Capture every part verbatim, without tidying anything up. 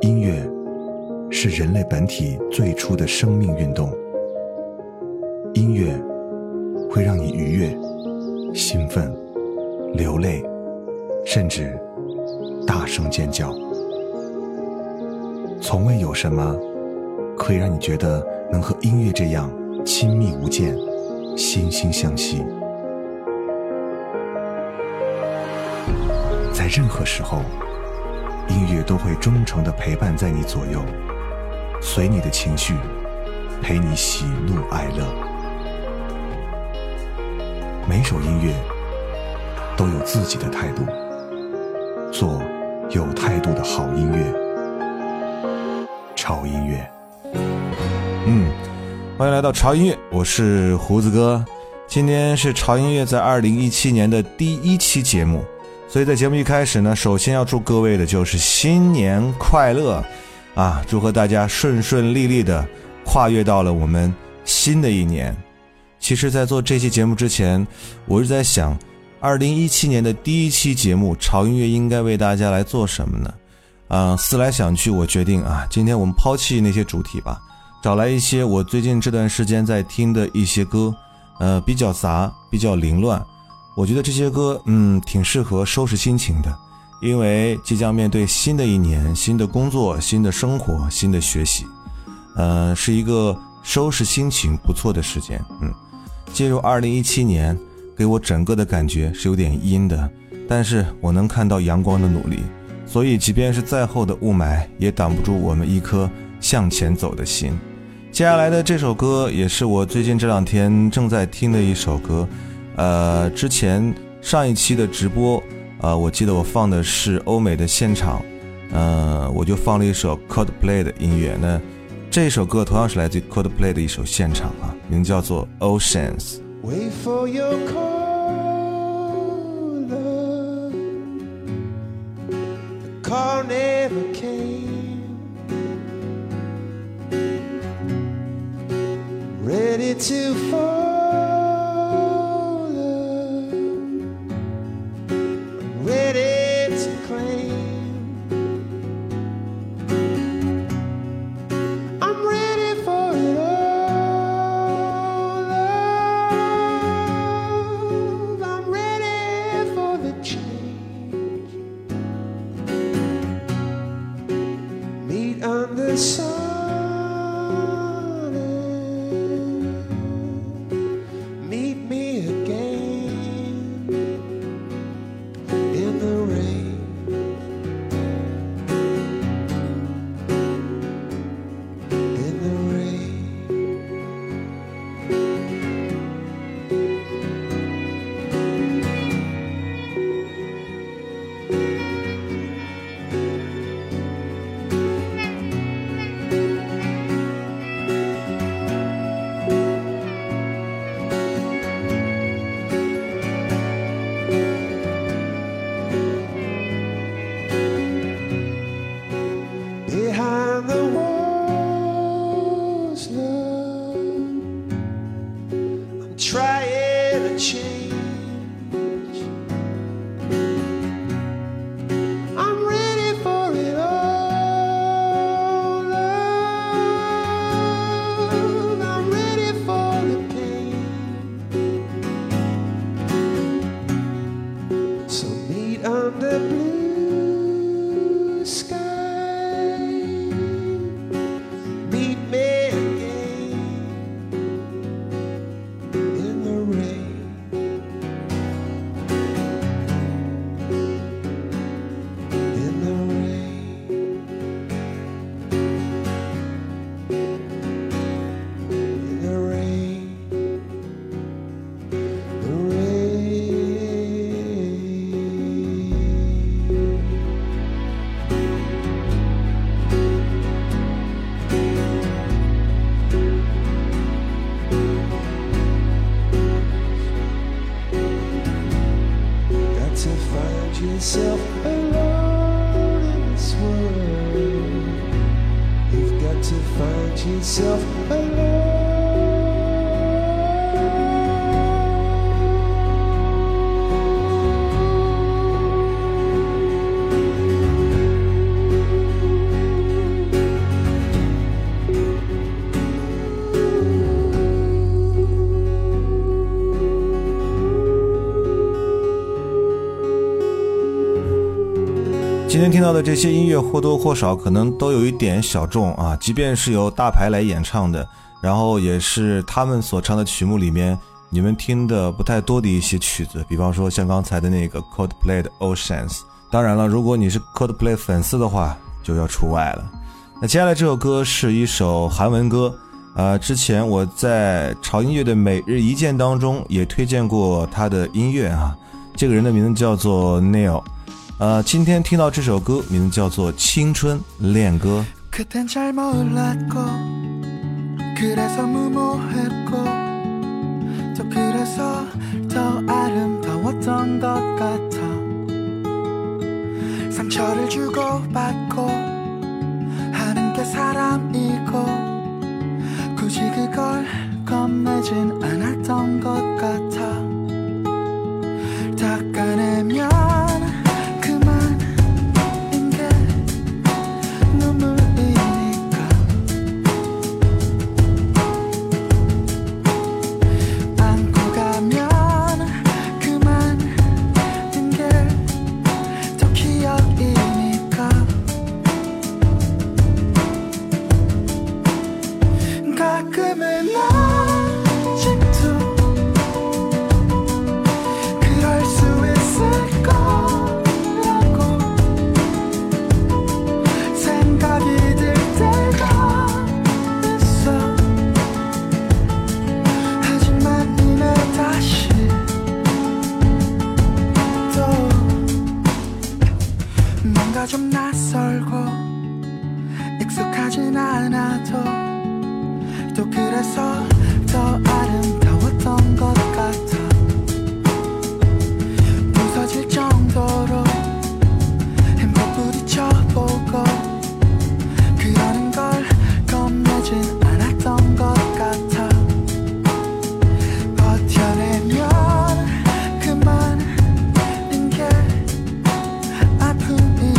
音乐是人类本体最初的生命运动，音乐会让你愉悦、兴奋、流泪，甚至大声尖叫。从未有什么可以让你觉得能和音乐这样亲密无间、惺惺相惜。在任何时候，音乐都会忠诚地陪伴在你左右，随你的情绪，陪你喜怒哀乐。每首音乐都有自己的态度，做有态度的好音乐。潮音乐， 嗯，欢迎来到潮音乐，我是胡子哥。今天是潮音乐在二零一七年的第一期节目，所以在节目一开始呢，首先要祝各位的就是新年快乐啊！祝贺大家顺顺利利的跨越到了我们新的一年。其实在做这期节目之前，我是在想二零一七年的第一期节目潮音乐应该为大家来做什么呢？啊、呃，思来想去，我决定啊，今天我们抛弃那些主题吧，找来一些我最近这段时间在听的一些歌，呃，比较杂，比较凌乱。我觉得这些歌，嗯，挺适合收拾心情的，因为即将面对新的一年，新的工作，新的生活，新的学习，呃，是一个收拾心情不错的时间。嗯，进入二零一七年，给我整个的感觉是有点阴的，但是我能看到阳光的努力。所以即便是再厚的雾霾也挡不住我们一颗向前走的心。接下来的这首歌也是我最近这两天正在听的一首歌，呃，之前上一期的直播，呃，我记得我放的是欧美的现场，呃，我就放了一首 Coldplay 的音乐。那这首歌同样是来自于 Coldplay 的一首现场啊，名叫做 Oceans。 Wait for your call, call never came. Ready to fall, ready to claim. I'm ready for it all, love. I'm ready for the change. Meet on the sun, meet me again in the rain. In the rain. Behind the walls, love, I'm trying to change. I'm ready for it all, love. I'm ready for the pain. So meet under blue sky. Meet me again in the rain. In the rain. In the rain. The rain. Got to find yourself alone in this world. You've got to find yourself alone. 今天听到的这些音乐或多或少可能都有一点小众啊，即便是由大牌来演唱的，然后也是他们所唱的曲目里面你们听的不太多的一些曲子，比方说像刚才的那个 Coldplay 的 Oceans。 当然了，如果你是 Coldplay 粉丝的话就要除外了。那接下来这首歌是一首韩文歌，呃，之前我在潮音乐的每日一见当中也推荐过他的音乐啊，这个人的名字叫做 Neil。呃，今天听到这首歌名字叫做《青春恋歌》。 그땐 잘 몰랐고 그래서 무모했고 또 그래서 더 아름다웠던 것 같아. 상처를 주고받고 하는 게 사람이고 굳이 그걸 겁내진 않았던 것 같아. 닦아내면 좀 낯설고 익숙하진 않아도 또 그래서 더 아름다웠던 것 같아. 부서질 정도로 힘껏 부딪혀보고 그러는 걸 겁내진 않았던 것 같아. 버텨내면 그만인 게 아픔이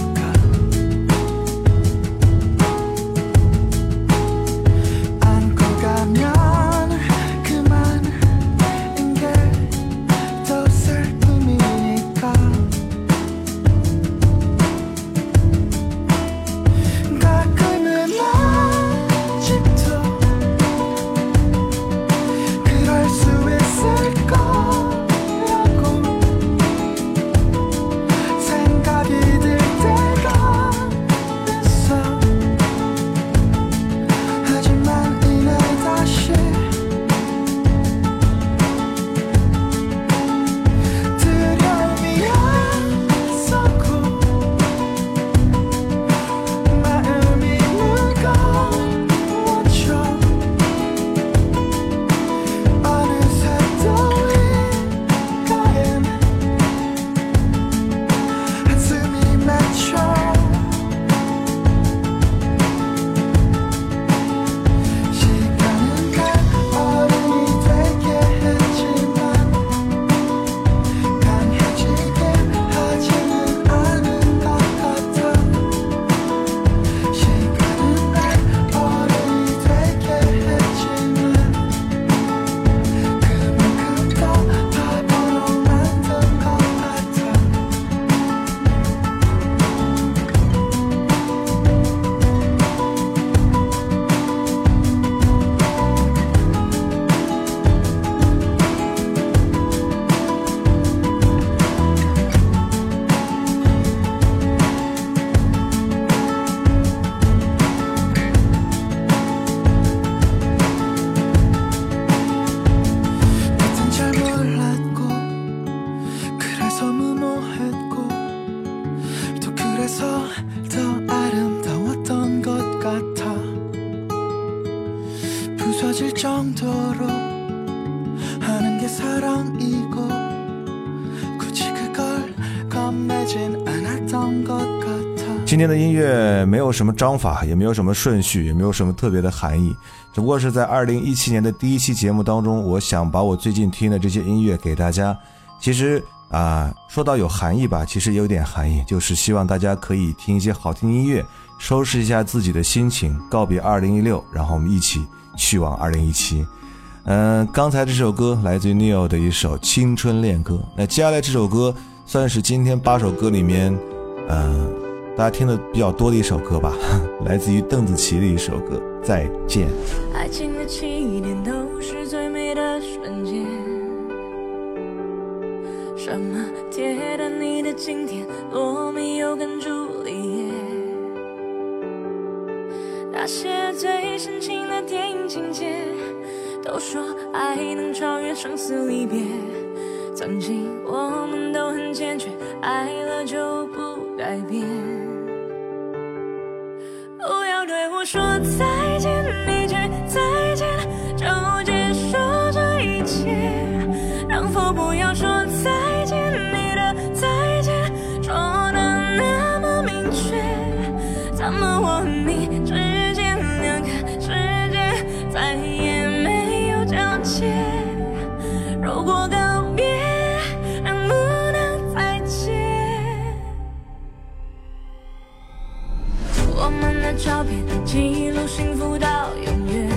부서질 정도로 하는 게 사랑이고 굳이 그걸 겁내진 않았던 것 같아. 今天的音乐没有什么章法，也没有什么顺序，也没有什么特别的含义，只不过是在二零一七年的第一期节目当中，我想把我最近听的这些音乐给大家。其实啊，说到有含义吧，其实也有点含义，就是希望大家可以听一些好听的音乐，收拾一下自己的心情，告别二零一六，然后我们一起去往二零一七。嗯、呃，刚才这首歌来自于 Neil 的一首青春恋歌。那接下来这首歌算是今天八首歌里面呃，大家听的比较多的一首歌吧，来自于邓紫棋的一首歌《再见》。 爱情的起点都是最美的瞬间，什么铁达尼的经典，罗密欧跟朱丽叶，那些最深情的电影情节，都说爱能超越生死离别。曾经我们都很坚决，爱了就不改变。不要对我说再见，一句再见就结束这一切。能否不要说再见，你的再见说得那么明确。怎么我和你之间两个世界再也没有交界？如果告别能不能再见？我们的照片记录幸福到永远，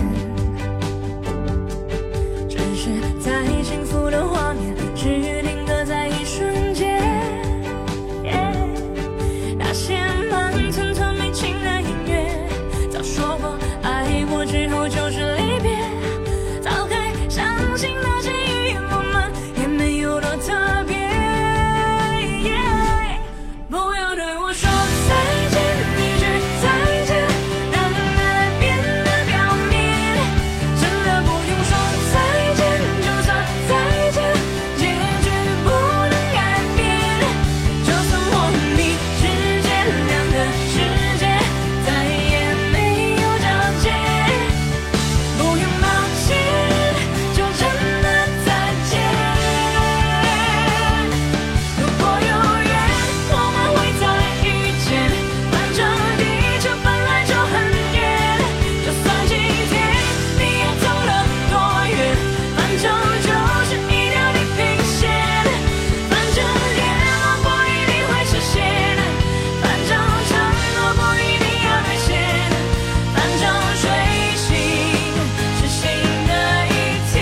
只是在幸福的画面只定格在一瞬间。Yeah, 那些慢吞吞没情的音乐，早说过爱过之后就是离别。早该相信那些语言我们也没有多特别。Yeah, 不要对我说再见，一句再见让爱变得表面。真的不用说再见，就算再见结局不能改变。就算我和你之间两个世界再也没有交界，不用抱歉，就真的再见。如果有缘我们会再遇见，反正地球本来就很远。就算今天你也走了多远，反正就是一条地平线。反正愿望不一定会实现，反正承诺不一定要兑现，反正睡醒是新的一天。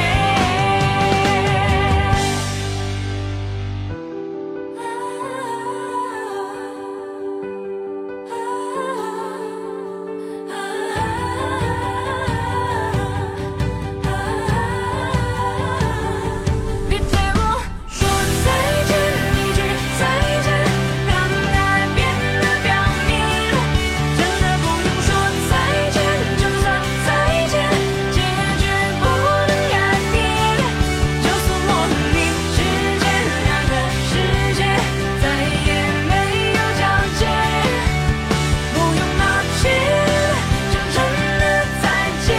别对我说再见，一句再见让爱变得表面。真的不用说再见，就算再见结局不能改变。就算我和你之间两个世界再也没有交界，不用抱歉，就真的再见。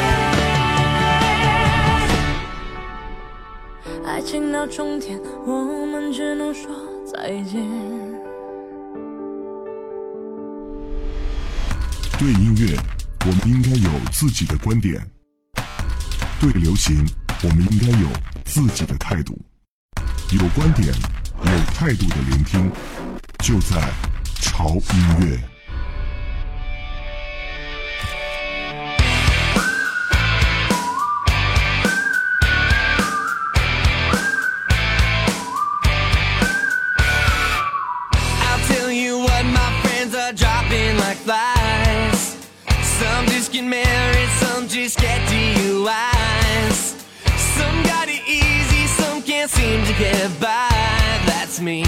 爱情到终点，我们只能说再见。 对音乐，我们应该有自己的观点；对流行，我们应该有自己的态度。有观点、有态度的聆听，就在潮音乐。 I'll tell you what, my friends are dropping like flies. Some just get married, some just get D U Is. Some got it easy, some can't seem to get by. That's me.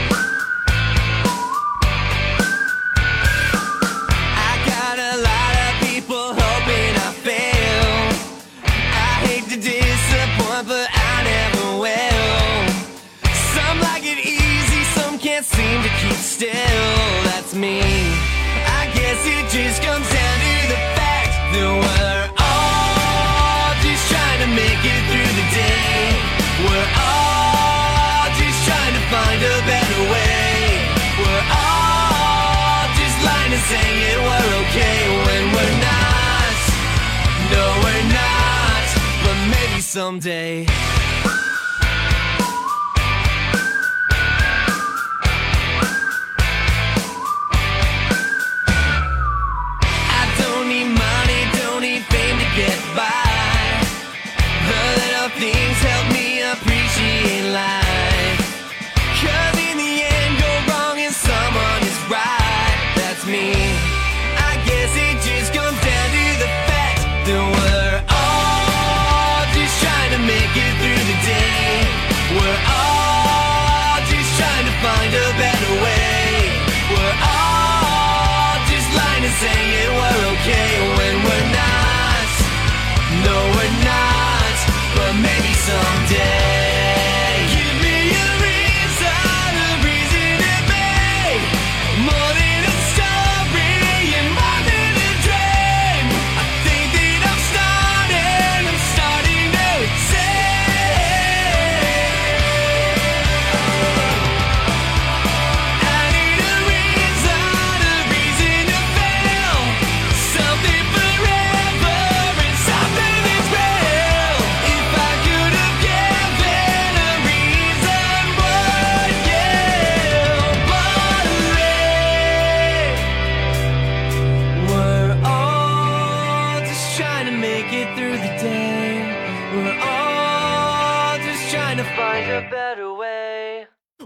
I got a lot of people hoping I fail. I hate to disappoint, but I never will. Some like it easy, some can't seem to keep still. That's me. I guess it just comes down to the fact that we're all just trying to make it through the day. We're all just trying to find a better way. We're all just lying and saying we're okay when we're not. No, we're not, but maybe someday. I don't need money, don't need fame to get by. The little things help me appreciate life. 'Cause in the end, go wrong and someone is right.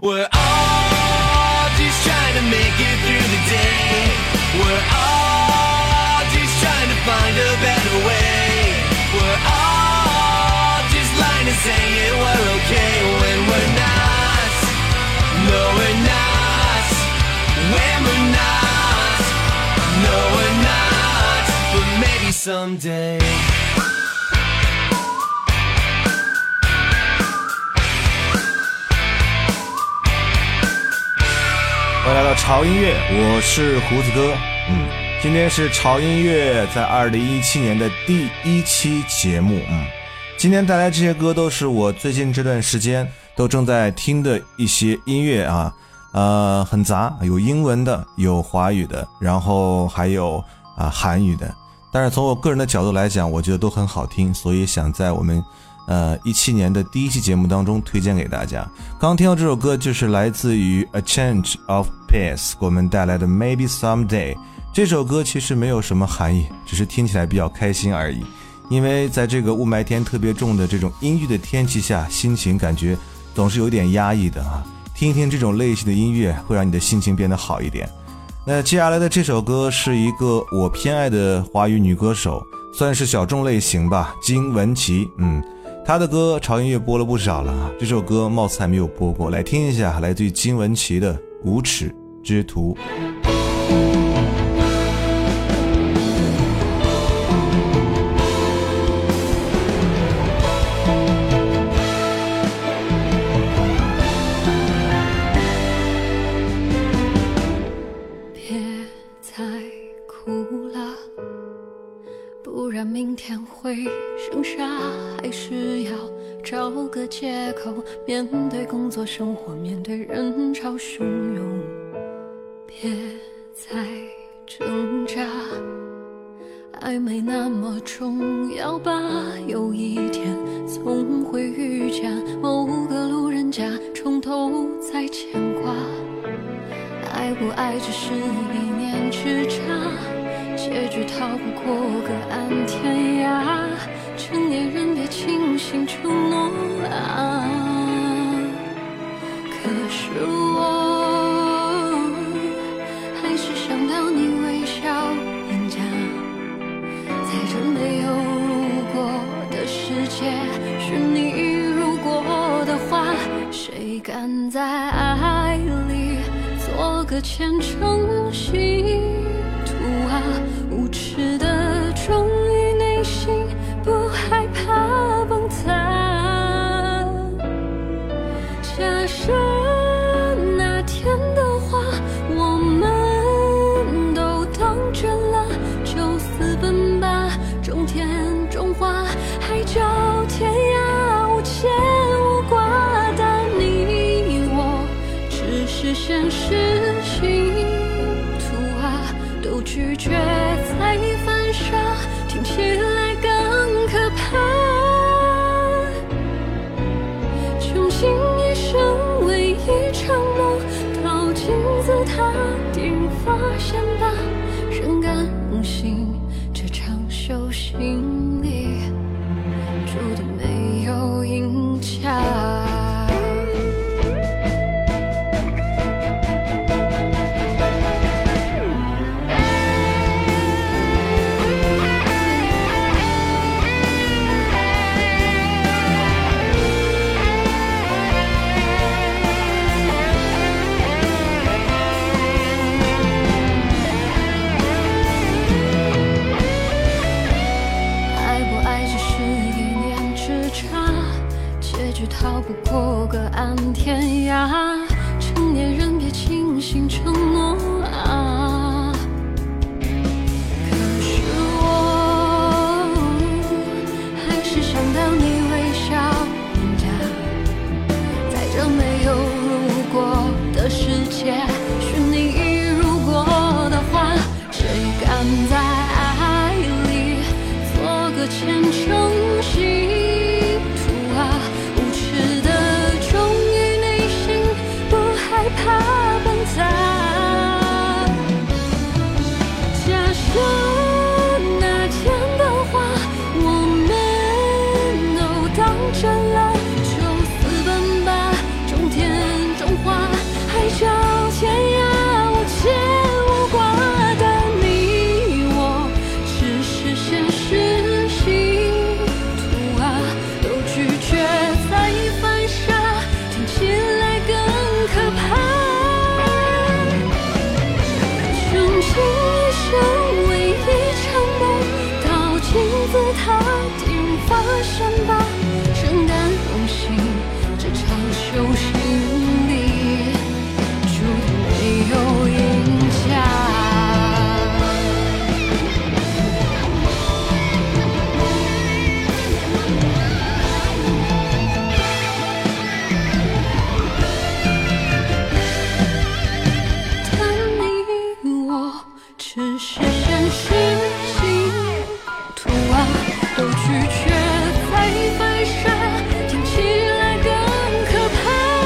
We're all just trying to make it through the day. We're all just trying to find a better way. We're all just lying and saying we're okay when we're not. No, we're not. When we're not. No, we're not. But maybe someday. 欢迎来到潮音乐，我是胡子哥。嗯，今天是潮音乐在二零一七年的第一期节目。嗯，今天带来这些歌都是我最近这段时间都正在听的一些音乐啊，呃，很杂，有英文的，有华语的，然后还有啊韩语的。但是从我个人的角度来讲，我觉得都很好听，所以想在我们呃一七年的第一期节目当中推荐给大家。刚听到这首歌就是来自于 A Change of Pace 给我们带来的 Maybe Someday。 这首歌其实没有什么含义，只是听起来比较开心而已。因为在这个雾霾天特别重的这种阴郁的天气下，心情感觉总是有点压抑的啊。听一听这种类型的音乐会让你的心情变得好一点。那接下来的这首歌是一个我偏爱的华语女歌手，算是小众类型吧，金玟岐。嗯，她的歌潮音乐播了不少了，这首歌貌似还没有播过，来听一下，来自于金玟岐的《无耻之徒》。 明天会剩下，还是要找个借口面对工作生活，面对人潮汹涌。别再挣扎，爱没那么重要吧，有一天总会遇见某个路人甲，从头再牵挂。爱不爱只是一念之差，结局逃不过隔岸天涯，成年人别轻信承诺啊！可是我还是想到你微笑脸颊，在这没有如果的世界，是你如果的话，谁敢在爱里做个虔诚信啊，无耻的忠于内心，不害怕崩塌。假设那天的话我们都当真了，就私奔吧，中天中华海角天涯无牵无挂，但你我只是现实性都拒绝再犯傻，听起来更可怕。穷尽一生唯一承诺，到金字塔顶发现吧，仍敢相信这场修行里注定没有赢家。 现吧，生旦荣幸这场修行里，注定没有赢家。只是现实性图啊，都拒绝再反射，听起来更可怕。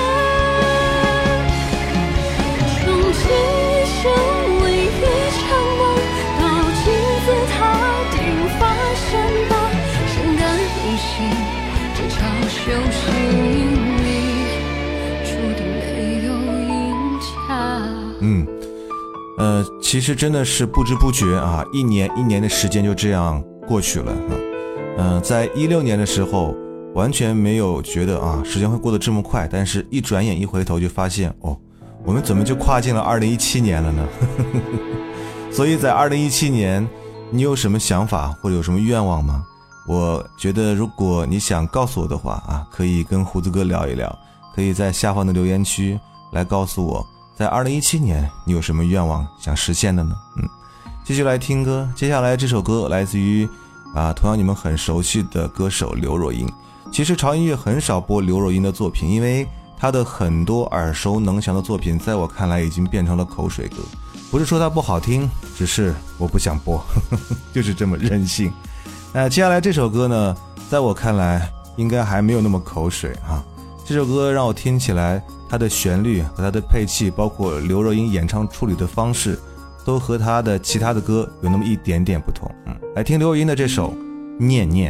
穷尽一生为一场梦，到金字塔顶发现吧，生旦荣幸这场修行里，注定没有赢家。 嗯。呃，其实真的是不知不觉啊，一年一年的时间就这样过去了啊。嗯、呃，在一六年的时候，完全没有觉得啊，时间会过得这么快，但是一转眼一回头就发现，哦，我们怎么就跨进了二零一七年了呢？所以在二零一七年，你有什么想法或者有什么愿望吗？我觉得如果你想告诉我的话啊，可以跟胡子哥聊一聊，可以在下方的留言区来告诉我。在二零一七年你有什么愿望想实现的呢？嗯，继续来听歌。接下来这首歌来自于啊，同样你们很熟悉的歌手刘若英。其实潮音乐很少播刘若英的作品，因为她的很多耳熟能详的作品在我看来已经变成了口水歌。不是说它不好听，只是我不想播，呵呵，就是这么任性。那接下来这首歌呢，在我看来应该还没有那么口水啊。这首歌让我听起来它的旋律和它的配器，包括刘若英演唱处理的方式，都和她的其他的歌有那么一点点不同。嗯，来听刘若英的这首《念念》。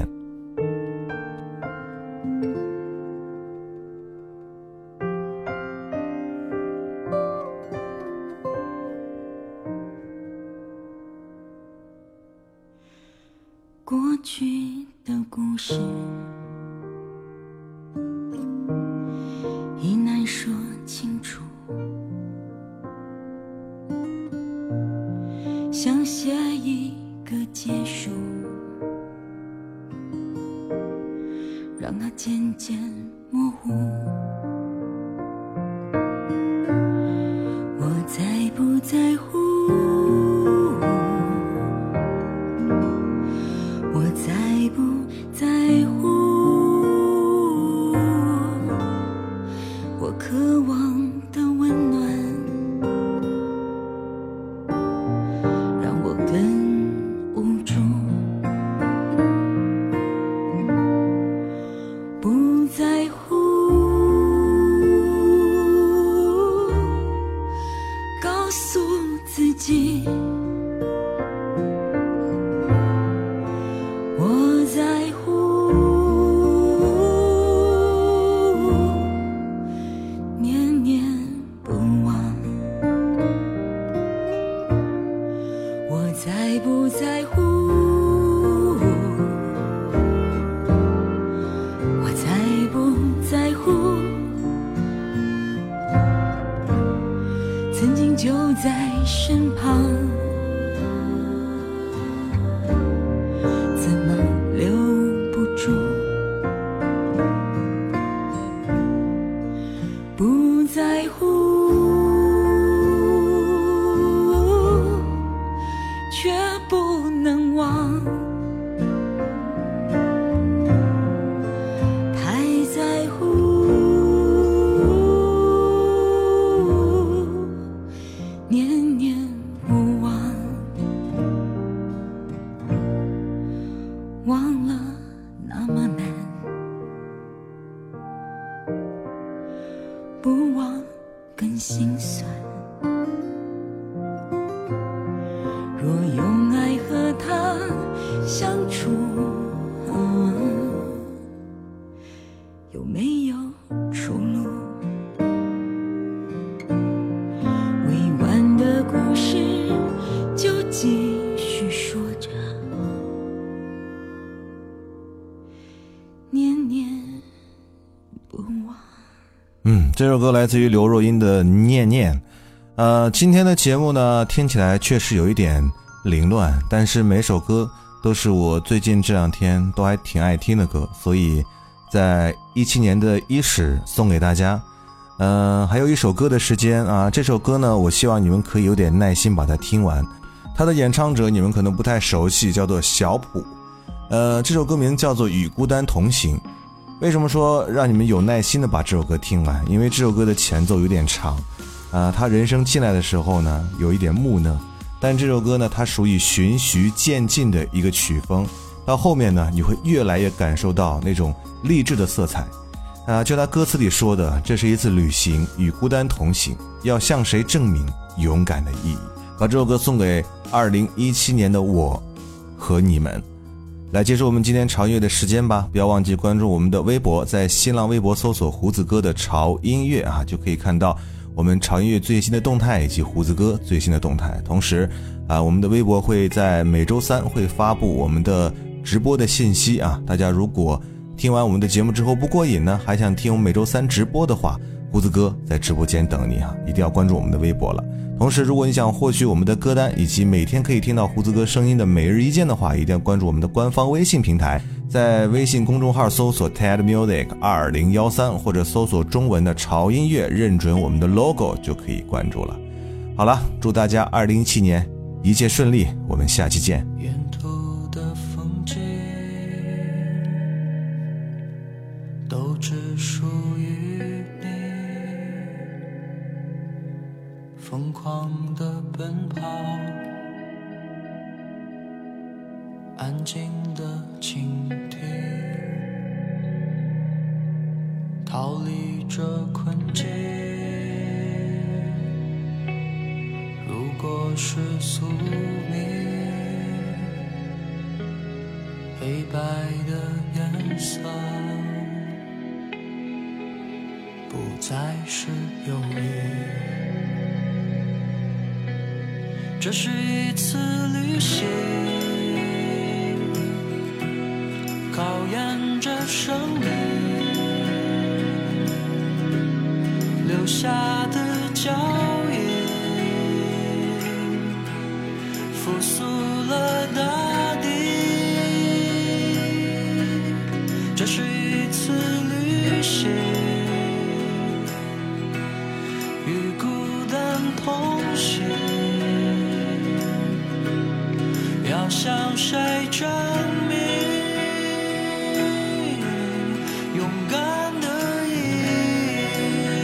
过去的故事已难说清楚，想写一个结束，让它渐渐模糊。我在不在乎，我在不在乎，我渴望的温暖让我更无助。不在乎，告诉自己我在乎，念念不忘。我在不在乎，我在不在乎，曾经就在身旁，怎么留不住？不在乎，却不能忘。太在乎，念念不忘。忘了那么难，不忘更心酸。若用爱和他相处，嗯，有没有出路？未完的故事就继续说着，念念不忘。 嗯，这首歌来自于刘若英的《念念》。呃，今天的节目呢，听起来确实有一点凌乱，但是每首歌都是我最近这两天都还挺爱听的歌，所以在一七年的伊始送给大家。嗯、呃，还有一首歌的时间啊，这首歌呢，我希望你们可以有点耐心把它听完。它的演唱者你们可能不太熟悉，叫做小普。呃，这首歌名叫做《与孤单同行》。为什么说让你们有耐心的把这首歌听完？因为这首歌的前奏有点长，啊、呃，他人声进来的时候呢，有一点木讷。但这首歌呢，它属于循序渐进的一个曲风，到后面呢，你会越来越感受到那种励志的色彩。啊、呃，就他歌词里说的，这是一次旅行，与孤单同行，要向谁证明勇敢的意义？把这首歌送给二零一七年的我和你们。来结束我们今天潮音乐的时间吧，不要忘记关注我们的微博，在新浪微博搜索胡子哥的潮音乐啊，就可以看到我们潮音乐最新的动态以及胡子哥最新的动态。同时啊，我们的微博会在每周三会发布我们的直播的信息啊，大家如果听完我们的节目之后不过瘾呢，还想听我们每周三直播的话，胡子哥在直播间等你啊，一定要关注我们的微博了。同时如果你想获取我们的歌单以及每天可以听到胡子哥声音的每日一见的话，一定要关注我们的官方微信平台，在微信公众号搜索 Ted Music 二零一三，或者搜索中文的潮音乐，认准我们的 logo 就可以关注了。好了，祝大家二零一七年一切顺利，我们下期见。 沿途的风景都只属于你，疯狂的奔跑，安静的倾听，逃离这困境。如果是宿命，黑白的颜色不再是忧郁。这是一次旅行，考验着生命留下的脚印，复苏了大地。这是一次旅行，与孤单同行，要向谁证明勇敢的意义？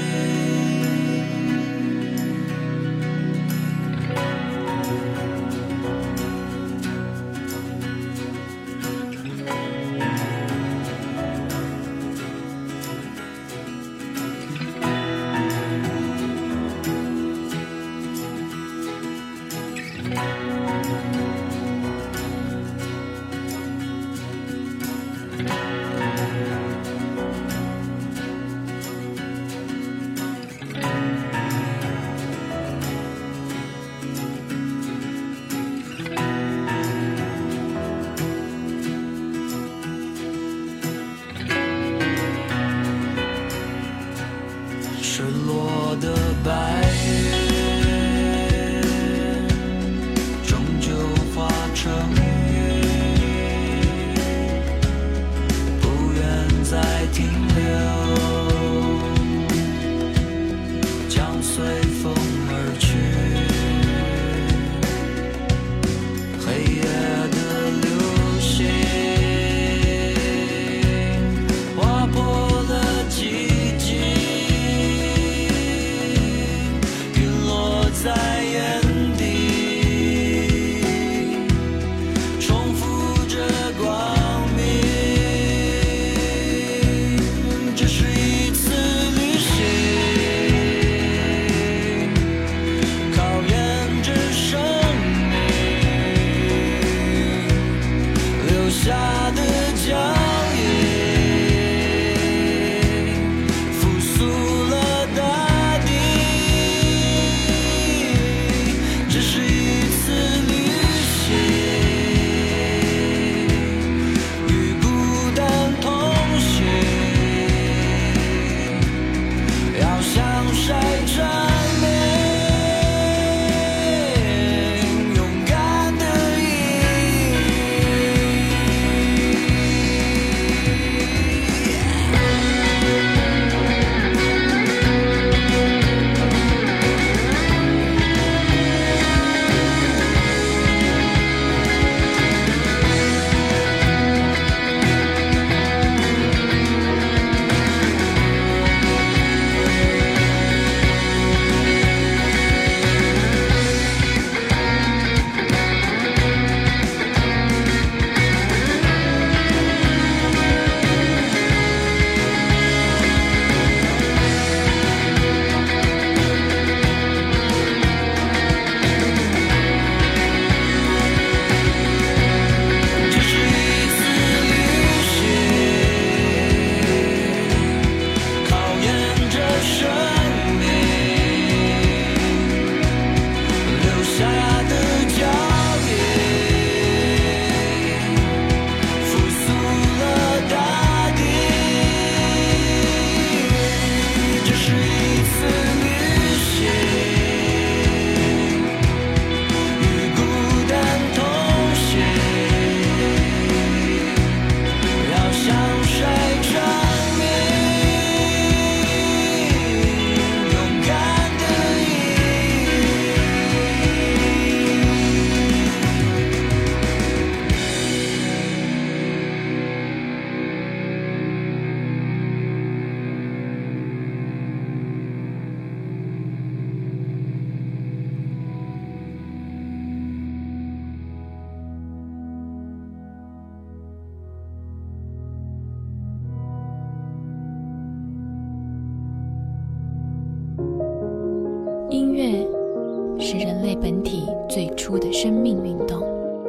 类本体最初的生命运动。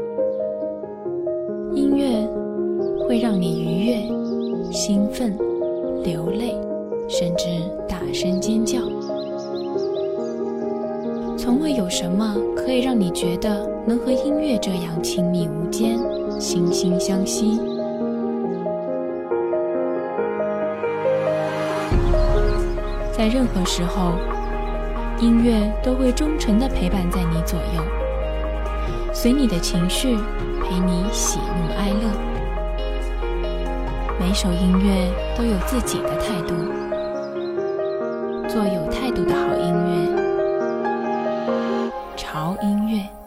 音乐会让你愉悦、兴奋、流泪，甚至大声尖叫。从未有什么可以让你觉得能和音乐这样亲密无间、惺惺相惜。在任何时候，音乐都会忠诚地陪伴在你左右，随你的情绪，陪你喜怒哀乐。每首音乐都有自己的态度，做有态度的好音乐。潮音乐。